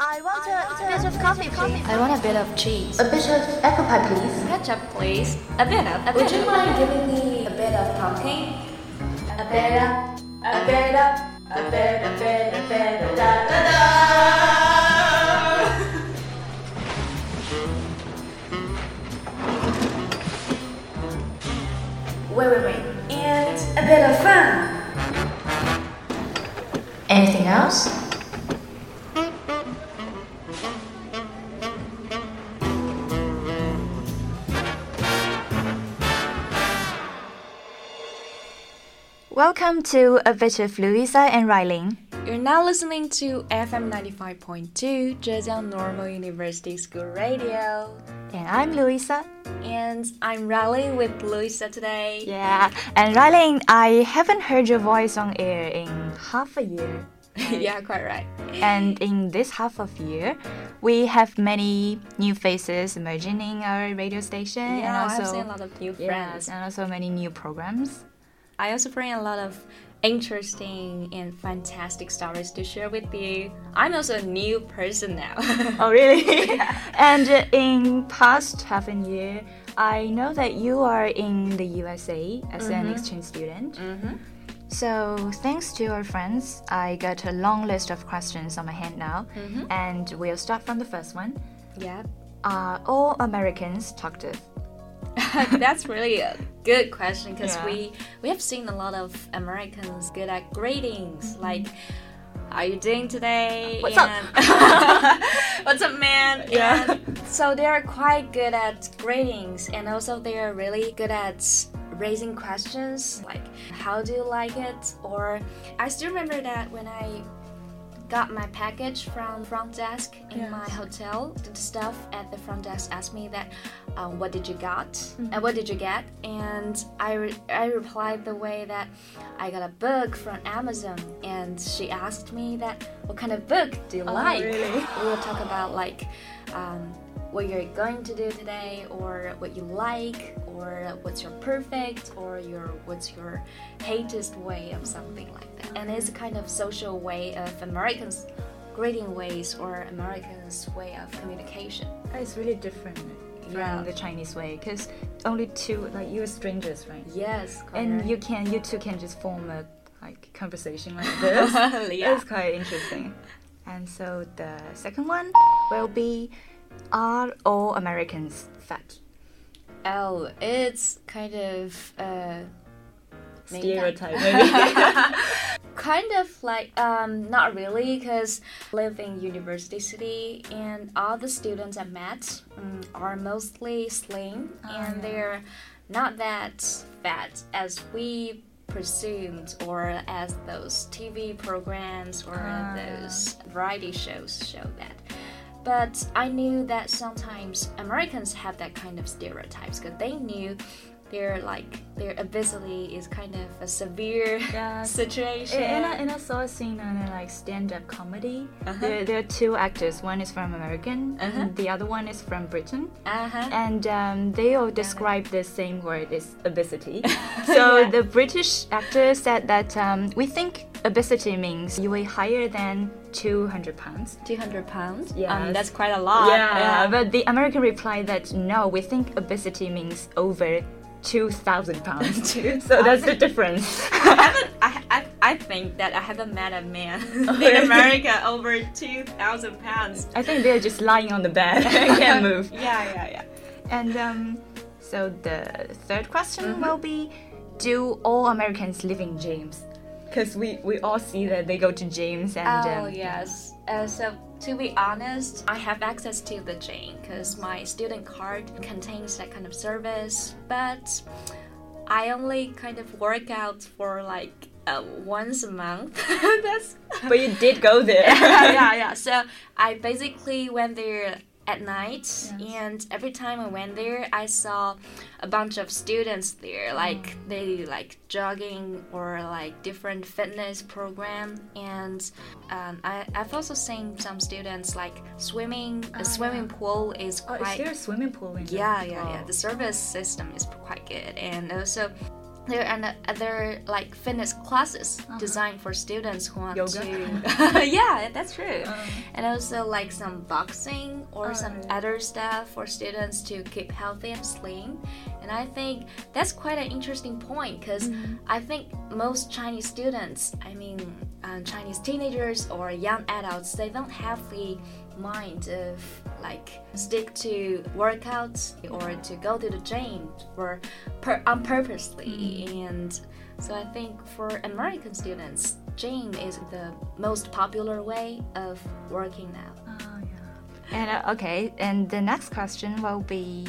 I want a bit of coffee, please. I want a bit of cheese. A bit of apple pie, please. Ketchup, please. A bit of. Would you mind giving me a bit of pumpkin? a bit of, a bit of, a bit, a bit, a bit, a da da da? Wait. And a bit of fun. Anything else? Welcome to A Bit of Louisa and Riley. You're now listening to FM 95.2 Zhejiang Normal University School Radio. And I'm Louisa. And I'm Riley with Louisa today. Yeah, and Riley, I haven't heard your voice on air in half a year. Yeah, quite right. And in this half of year, we have many new faces emerging in our radio station. Yeah, and also, I've seen a lot of new friends. And also many new programs. I also bring a lot of interesting and fantastic stories to share with you. I'm also a new person now. Oh, really? Yeah. And in past half a year, I know that you are in the USA as an exchange student. So thanks to our friends, I got a long list of questions on my hand now. And we'll start from the first one. Yeah. Are all Americans talkative? That's really a good question because Yeah. we have seen a lot of Americans good at greetings, like "How you doing today?" What's up? What's up, man? Yeah. And so they are quite good at greetings, and also they are really good at raising questions like "How do you like it?" Or I still remember that when I got my package from front desk in my hotel. The staff at the front desk asked me that, what did you get? And I replied the way that I got a book from Amazon, and she asked me that, what kind of book do you like? Really? We will talk about like what you're going to do today, or what you like, or what's your perfect, or what's your hatest way of something like that. And it's a kind of social way of Americans' greeting ways or Americans' way of communication. It's really different from the Chinese way because only two, like you're strangers, right? Yes, quite And right. you two can just form a conversation like this. Yeah. It's quite interesting. And so the second one will be, are all Americans fat? Oh, it's kind of Stereotype, maybe. kind of like not really, because I live in University City and all the students I met are mostly slim and they're not that fat as we presumed, or as those TV programs or those variety shows show that. But I knew that sometimes Americans have that kind of stereotypes because they knew their obesity is kind of a severe situation. And I saw a scene on a stand-up comedy. There are two actors. One is from American, and the other one is from Britain. And they all describe the same word as obesity. So the British actor said that we think obesity means you weigh higher than 200 pounds. 200 pounds? Yes. That's quite a lot. Yeah, but the American replied that no, we think obesity means over 2,000 pounds. So that's the difference. I think that I haven't met a man in America over 2,000 pounds. I think they're just lying on the bed and can't move. Yeah. And so the third question will be, do all Americans live in gyms? Because we all see that they go to gyms and... yes. So to be honest, I have access to the gym because my student card contains that kind of service. But I only kind of work out for like once a month. But you did go there. Yeah. So I basically went there at night, and every time I went there, I saw a bunch of students there, like they like jogging or like different fitness program, and I've also seen some students like swimming. The swimming pool is quite. Is there a swimming pool in there? Yeah. The service system is quite good, and also there are other like fitness classes designed for students who want yoga. to yeah, that's true. And also like some boxing or some other stuff for students to keep healthy and slim. And I think that's quite an interesting point because I think most Chinese students, I mean Chinese teenagers or young adults, they don't have the mind of like stick to workouts or to go to the gym or purposely. And so I think for American students, gym is the most popular way of working now. And okay, and the next question will be,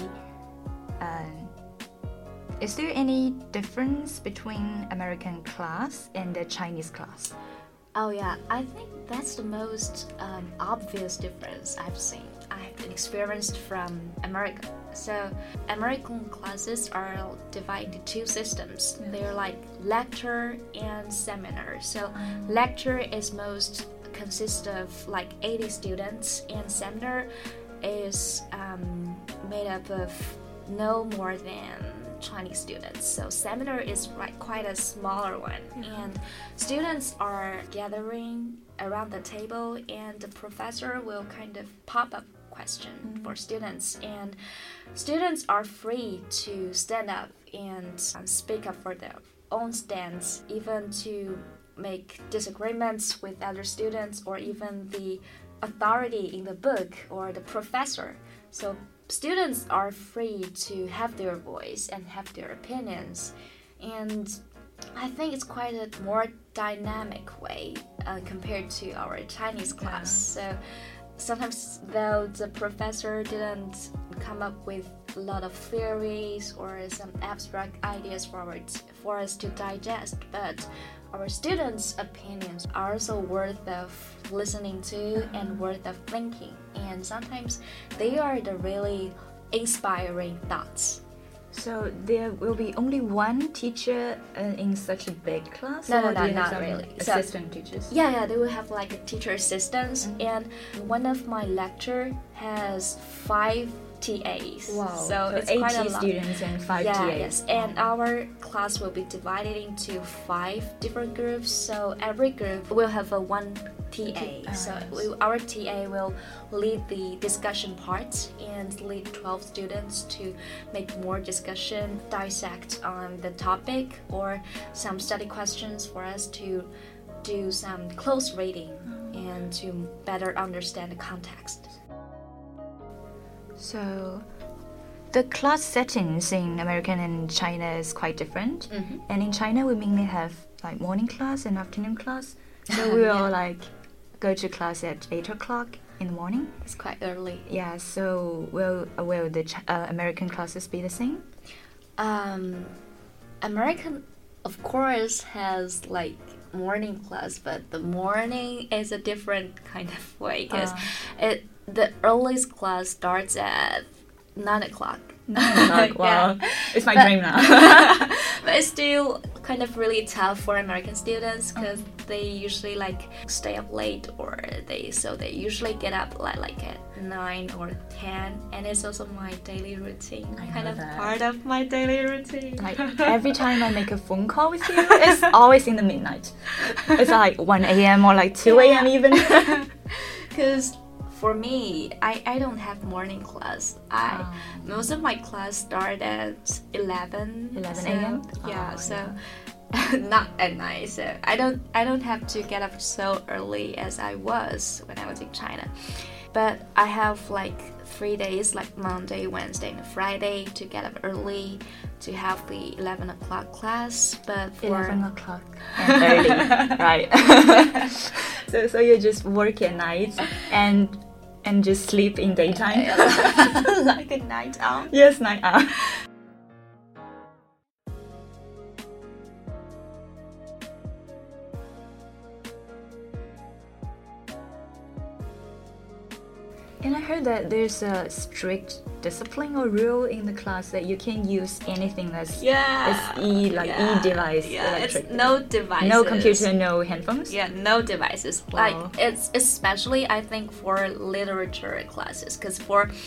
is there any difference between American class and the Chinese class? Oh yeah, I think that's the most obvious difference I've experienced from America. So American classes are divided into two systems. They're like lecture and seminar. So lecture is most consists of like 80 students, and seminar is made up of no more than 20 students. So seminar is like quite a smaller one, and students are gathering around the table, and the professor will kind of pop up question for students, and students are free to stand up and speak up for their own stance, even to make disagreements with other students or even the authority in the book or the professor. So students are free to have their voice and have their opinions, and I think it's quite a more dynamic way compared to our Chinese class. So sometimes though the professor didn't come up with a lot of theories or some abstract ideas for us to digest, but our students' opinions are also worth of listening to and worth of thinking, and sometimes they are the really inspiring thoughts. So there will be only one teacher in such a big class? No, not really. Assistant teachers? Yeah, they will have like a teacher assistants, and one of my lecture has 5 TAs. Wow. So it's 80 quite a lot. students and 5 TAs. Yes, and our class will be divided into 5 different groups. So every group will have one TA. So our TA will lead the discussion part and lead 12 students to make more discussion, dissect on the topic, or some study questions for us to do some close reading and to better understand the context. So the class settings in American and China is quite different. And in China we mainly have like morning class and afternoon class. So we will like go to class at 8 o'clock in the morning. It's quite early. Yeah, so will the American classes be the same? American, of course, has like morning class, but the morning is a different kind of way because the earliest class starts at 9 o'clock. 9 o'clock, wow. Yeah. It's my dream now. But it's still kind of really tough for American students because they usually like stay up late, or they usually get up like at 9 or 10, and it's also my daily routine. Kind of part of my daily routine. Like every time I make a phone call with you, it's always in the midnight. It's like 1 a.m. or like 2 a.m. even. Because for me, I don't have morning class. Most of my class start at 11 a.m. Not at night. So I don't have to get up so early as I was when I was in China. But I have like 3 days, like Monday, Wednesday, and Friday, to get up early to have the 11 o'clock class. But for 11 o'clock and early, right? So you just work at night and just sleep in daytime. Like a night owl. Yes, night owl. And I heard that there's a strict discipline or rule in the class that you can't use anything that's e-device, electric. It's no devices. No computer, no headphones. Yeah, no devices. Wow. Like it's especially I think for literature classes, because for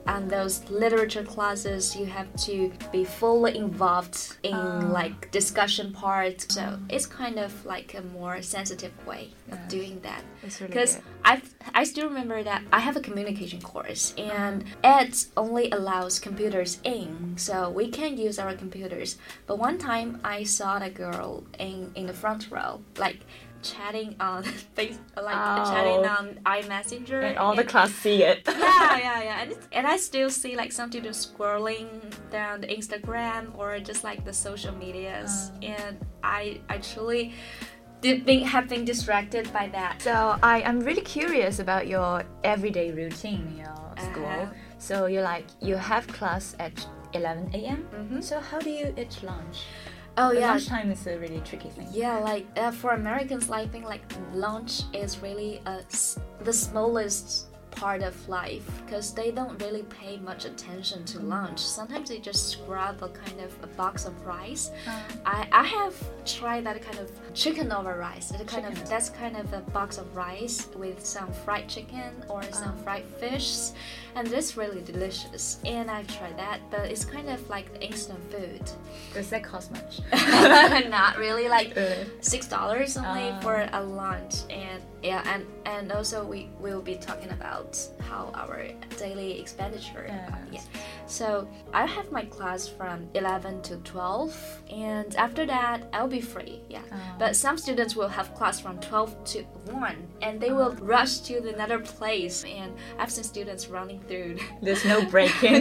on those literature classes, you have to be fully involved in like discussion part. So it's kind of like a more sensitive way of doing that. Because I still remember that I have a communication course, and it only allows computers in, so we can use our computers. But one time I saw a girl in the front row, like chatting on face, chatting on iMessenger, and all the class see it. yeah. And I still see like some students scrolling down the Instagram or just like the social medias, and I truly have been distracted by that. So I'm really curious about your everyday routine in your school. So you have class at 11 a.m. So how do you eat lunch? Lunchtime is a really tricky thing. Yeah, like for Americans, I think like lunch is really the smallest part of life, because they don't really pay much attention to lunch. Sometimes they just grab a kind of a box of rice. I have tried that kind of chicken over rice. That's kind of a box of rice with some fried chicken or some fried fish, and it's really delicious. And I've tried that, but it's kind of like the instant food. Does that cost much? Not really, like $6 only for a lunch. And also we will be talking about how our daily expenditure. So I have my class from 11 to 12, and after that I'll be free. But some students will have class from 12 to 1, and they will rush to another place, and I've seen students running through. There's no break in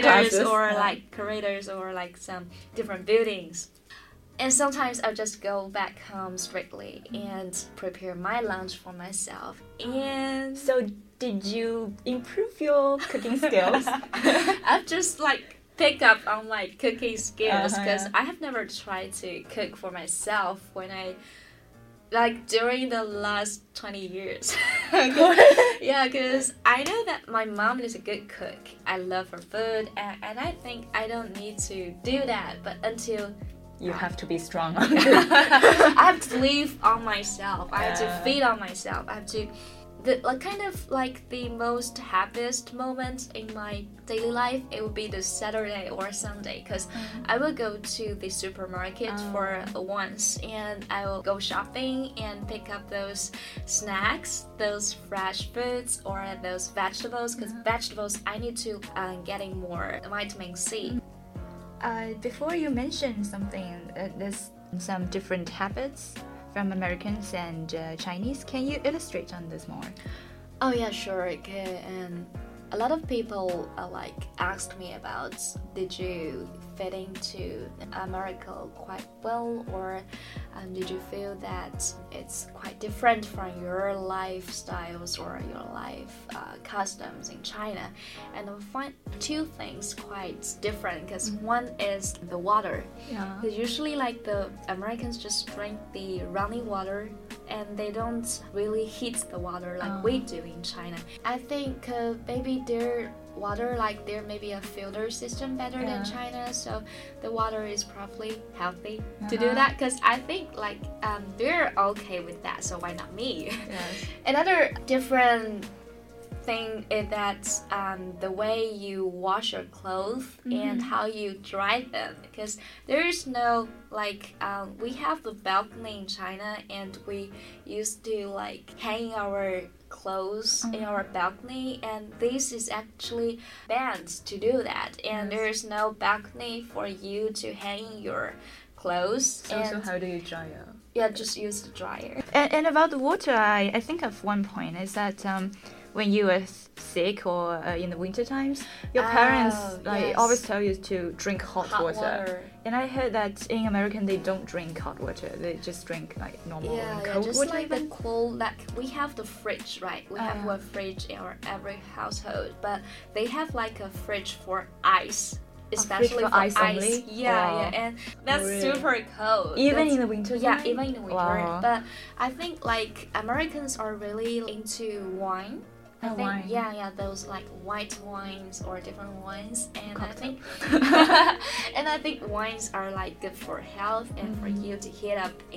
corridors or like some different buildings. And sometimes I'll just go back home straightly and prepare my lunch for myself. And so did you improve your cooking skills? I've just like picked up on my cooking skills, because I have never tried to cook for myself during the last 20 years. Because I know that my mom is a good cook. I love her food, and I think I don't need to do that, but until you have to be strong. I have to live on myself. I have to feed on myself. I have to the most happiest moment in my daily life, it would be the Saturday or Sunday, because I will go to the supermarket for once, and I will go shopping and pick up those snacks, those fresh foods or those vegetables, because vegetables I need to getting more vitamin C. Before you mentioned something, there's some different habits from Americans and Chinese. Can you illustrate on this more? Oh yeah, sure. Okay. And a lot of people asked me about, did you fit into America quite well, or did you feel that it's quite different from your lifestyles or your life customs in China? And I find two things quite different, because one is the water. Because usually the Americans just drink the running water, and they don't really heat the water like we do in China. I think maybe their water, there may be a filter system better than China, so the water is probably healthy to do that, because I think they're okay with that, so why not me? Another different thing is that the way you wash your clothes and how you dry them, because there is no we have the balcony in China, and we used to hang our clothes in our balcony, and this is actually banned to do that, and there's no balcony for you to hang your clothes. So how do you dry it? Yeah, just use the dryer. And about the water, I think of one point is that when you are sick or in the winter times, your parents always tell you to drink hot water. And I heard that in America they don't drink hot water; they just drink normal cold just water. The cold. We have the fridge, right? We have a fridge in every household, but they have a fridge for ice. Especially for ice only? And that's super cold. Even in the winter? Yeah, even in the winter. But I think Americans are really into wine. I think, wine. Those white wines or different wines, and Cocktail. I think wines are good for health and for you to heat up in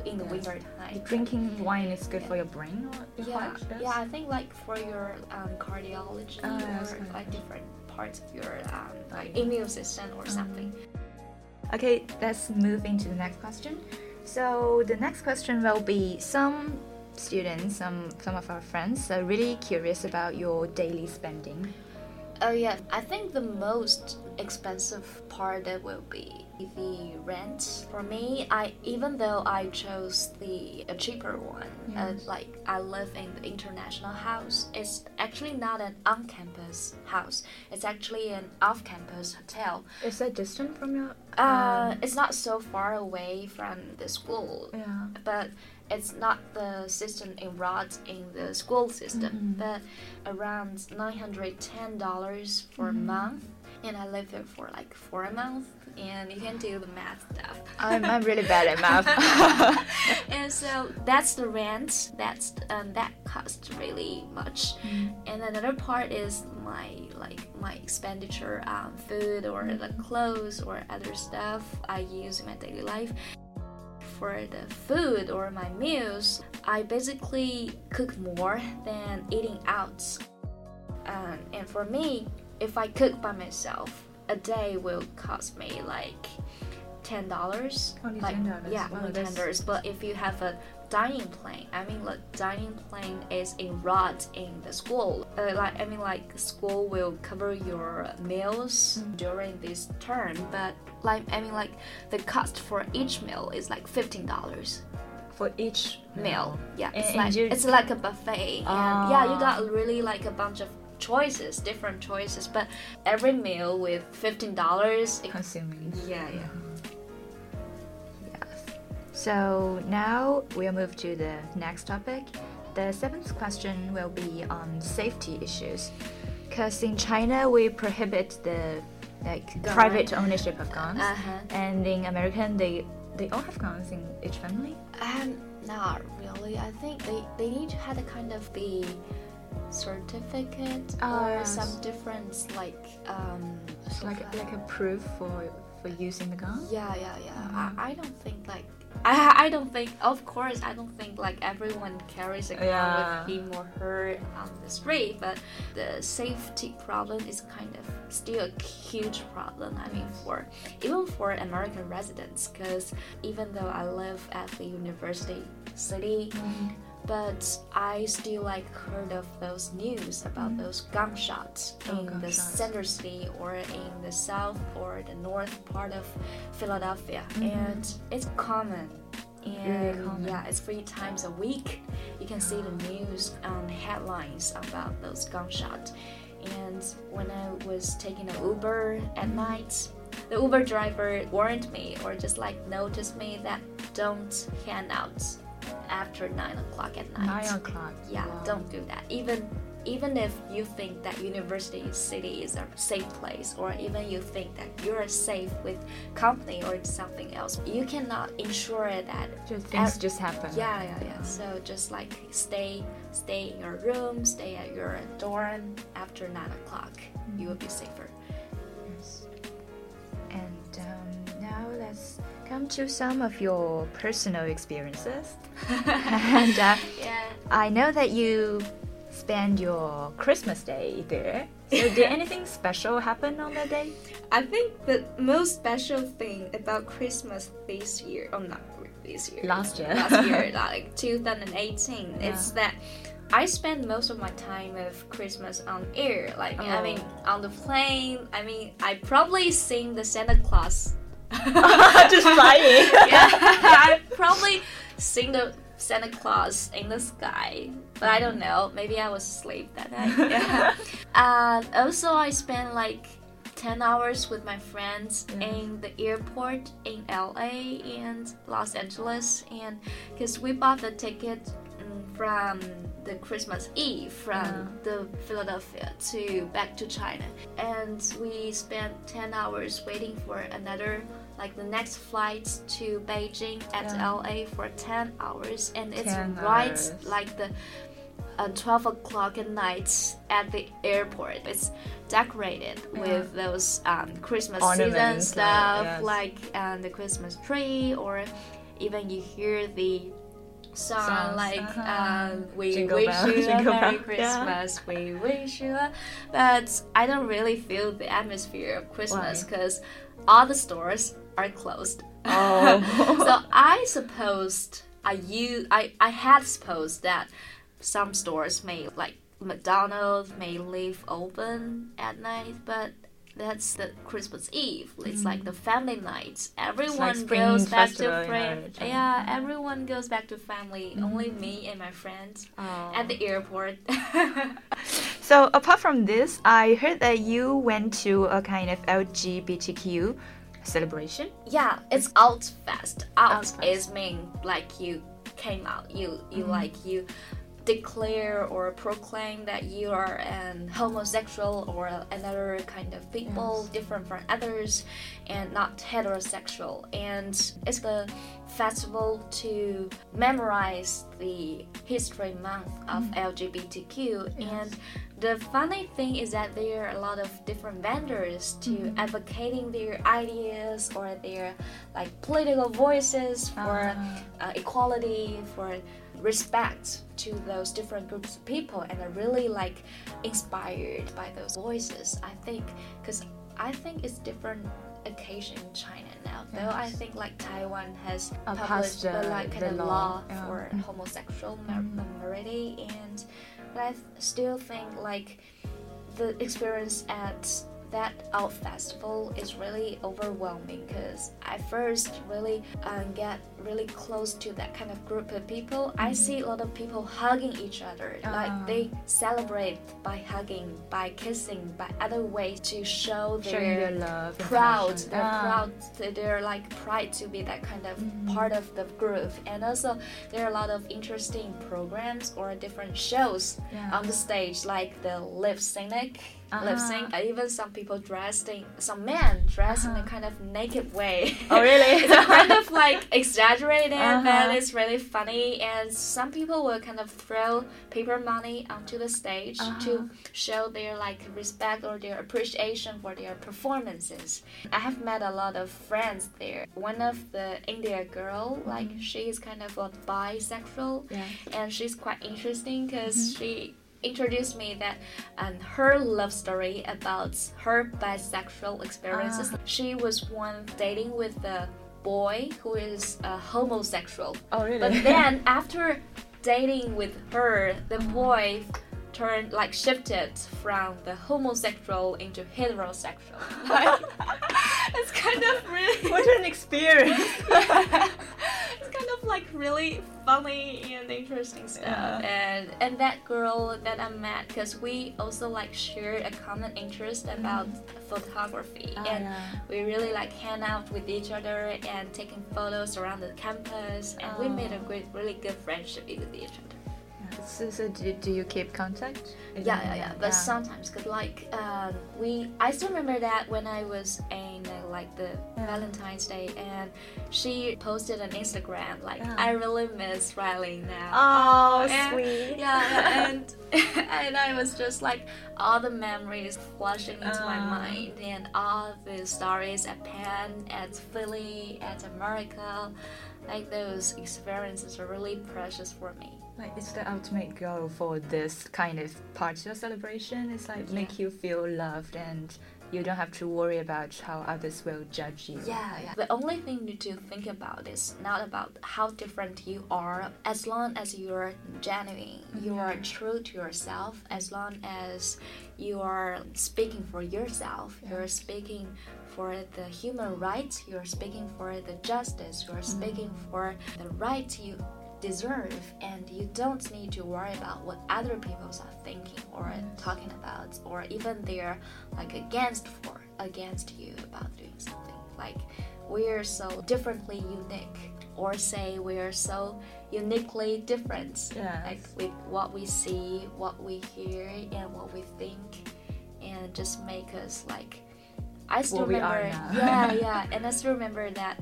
in the winter time. Drinking wine is good for your brain or your heart? Yeah, I think like for your cardiology or like different parts of your like immune system or something. Okay, let's move into the next question. So the next question will be some students, some of our friends are really curious about your daily spending. Oh yeah, I think the most expensive part will be the rent. For me, even though I chose the cheaper one, like I live in the international house, it's actually not an on-campus house. It's actually an off-campus hotel. Is that distant from your? It's not so far away from the school. Yeah. But it's not the system enrolled in the school system, but around $910 for a month, and I lived there for like 4 months, and you can do the math stuff. I'm really bad at math. And so that's the rent. That costs really much. And another part is my expenditure on food or the clothes or other stuff I use in my daily life. For the food or my meals, I basically cook more than eating out. And for me, if I cook by myself, a day will cost me like $10. Only like, $10? Yeah, Wow, only $10. But if you have a dining plan, the dining plan is enrolled in the school. School will cover your meals during this term, but the cost for each meal is like $15 for each meal. Yeah, it's like a buffet, and you got really like a bunch of different choices, but every meal with $15 consuming. Yeah. So now we'll move to the next topic. The 7th question will be on safety issues, because in China we prohibit the private ownership of guns, and in America they all have guns in each family. Not really. I think they need to have a kind of the certificate or some difference like a proof for using the gun. Yeah. I don't think like I don't think, of course, I don't think like everyone carries a gun with him or her on the street, but the safety problem is kind of still a huge problem. I mean, even for American residents, because even though I live at the university city, but I still heard of those news about those gunshots in the center city or in the south or the north part of Philadelphia, and it's common. And yeah, it's 3 times a week. You can see the news headlines about those gunshots. And when I was taking an Uber at night, the Uber driver warned me or just noticed me that don't hand out after 9 o'clock at night. 9 o'clock. Yeah, wow. Don't do that. Even if you think that University City is a safe place, or even you think that you're safe with company or something else, you cannot ensure that things just happen. Yeah. So just stay in your room, stay at your dorm after 9 o'clock. You will be safer. Yes. And now let's come to some of your personal experiences. And I know that you spend your Christmas day there. So did anything special happen on that day? I think the most special thing about Christmas this year, not this year, last year, 2018, it's that I spend most of my time of Christmas on air. On the plane. I probably sing the Santa Claus. Just flying. Yeah, I probably sing the Santa Claus in the sky, but I don't know. Maybe I was asleep that night. Yeah. Also, I spent 10 hours with my friends in the airport in LA and Los Angeles, and because we bought the ticket from the Christmas Eve from the Philadelphia back to China, and we spent 10 hours waiting for another the next flight to Beijing at LA for 10 hours, and it's right the 12 o'clock at night at the airport. It's decorated with those Christmas ornaments, season stuff, the Christmas tree, or even you hear the song like we Jingle wish bell, you a jingle Merry bell. Christmas, we wish you a, but I don't really feel the atmosphere of Christmas because all the stores are closed. So I supposed I had supposed that some stores may, like McDonald's, may leave open at night, but that's the Christmas Eve. It's like the family night. Everyone goes back to friends. Yeah, everyone goes back to family. Only me and my friends at the airport. So apart from this, I heard that you went to a kind of LGBTQ celebration. Yeah, it's Outfest. Out is mean like you came out. You like you declare or proclaim that you are an homosexual or another kind of people different from others and not heterosexual. And it's the festival to memorize the history month of LGBTQ. And the funny thing is that there are a lot of different vendors to advocating their ideas or their like political voices for equality, for respect to those different groups of people, and are really like inspired by those voices. I think because I think it's different occasion in China now. Though I think like Taiwan has published like kind of law for homosexual marriage, and but I still think like the experience at that Out Festival is really overwhelming because I first really get really close to that kind of group of people. I see a lot of people hugging each other, like they celebrate by hugging, by kissing, by other ways to show their love, proud, they're like pride to be that kind of part of the group. And also there are a lot of interesting programs or different shows on the stage, like the lip sync. Even some people some men dressed in a kind of naked way. Oh, really? It's kind of like exaggerated, but it's really funny. And some people will kind of throw paper money onto the stage to show their like respect or their appreciation for their performances. I have met a lot of friends there. One of the India girl, like she's kind of a bisexual, and she's quite interesting because she introduced me that her love story about her bisexual experiences. She was once dating with a boy who is homosexual. Oh, really? But then after dating with her, the boy shifted from the homosexual into heterosexual. It's kind of really what an experience. It's kind of like really funny and interesting stuff. And that girl that I met, because we also like shared a common interest about photography, and we really like hang out with each other and taking photos around the campus, and we made a really good friendship with each other. So do you keep contact? Yeah. But sometimes, cause like I still remember that when I was in like the Valentine's Day, and she posted on Instagram like I really miss Riley now. Oh, sweet. Yeah, and I was just like all the memories flashing into my mind, and all the stories at Penn, at Philly, at America, like those experiences are really precious for me. Like it's the ultimate goal for this kind of party or celebration. It's like make you feel loved, and you don't have to worry about how others will judge you. Yeah. The only thing to think about is not about how different you are, as long as you're genuine, you are true to yourself, as long as you are speaking for yourself, you're speaking for the human rights, you're speaking for the justice, you're speaking for the right you deserve, and you don't need to worry about what other people are thinking or talking about, or even they're like against you about doing something. Like we're so differently unique, or say we're so uniquely different, like with what we see, what we hear, and what we think, and just make us like. I still remember, and I still remember that.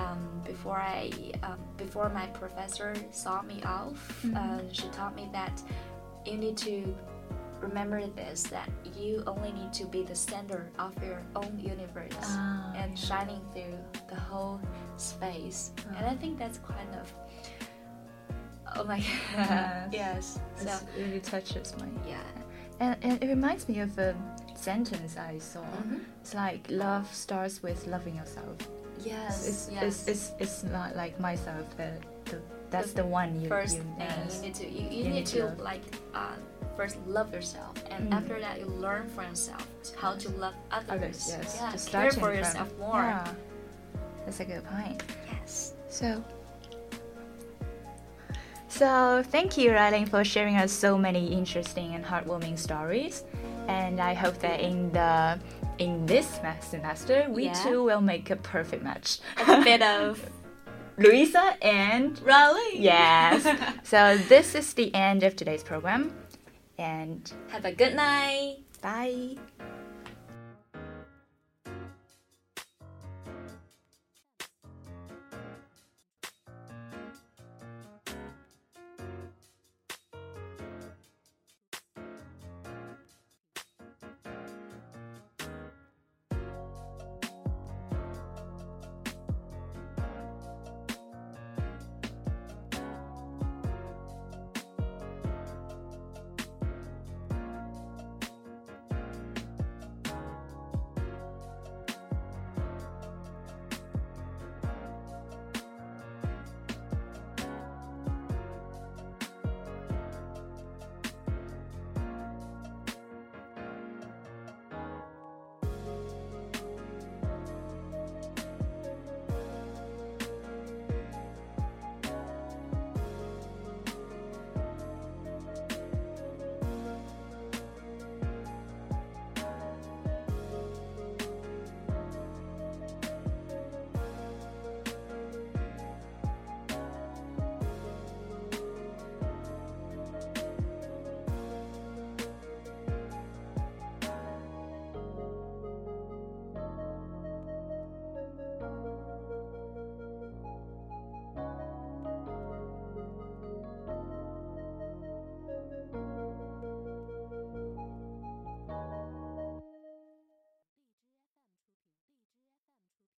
Before my professor saw me off, she taught me that you need to remember this, that you only need to be the center of your own universe and shining through the whole space. And I think that's kind of, oh my god. Yes. So it really touches me. Yeah. And it reminds me of a sentence I saw. It's like love starts with loving yourself. Yes. It's not like myself. That's the one you first you, thing you need to like first love yourself, and after that you learn for yourself how to love others. Yes. Yeah, Just care for yourself more. Yeah. That's a good point. Yes. So thank you, Ryling, for sharing us so many interesting and heartwarming stories. And I hope that in this semester we too will make a perfect match. A bit of Louisa and Ryling. Yes. So this is the end of today's program. And have a good night. Bye.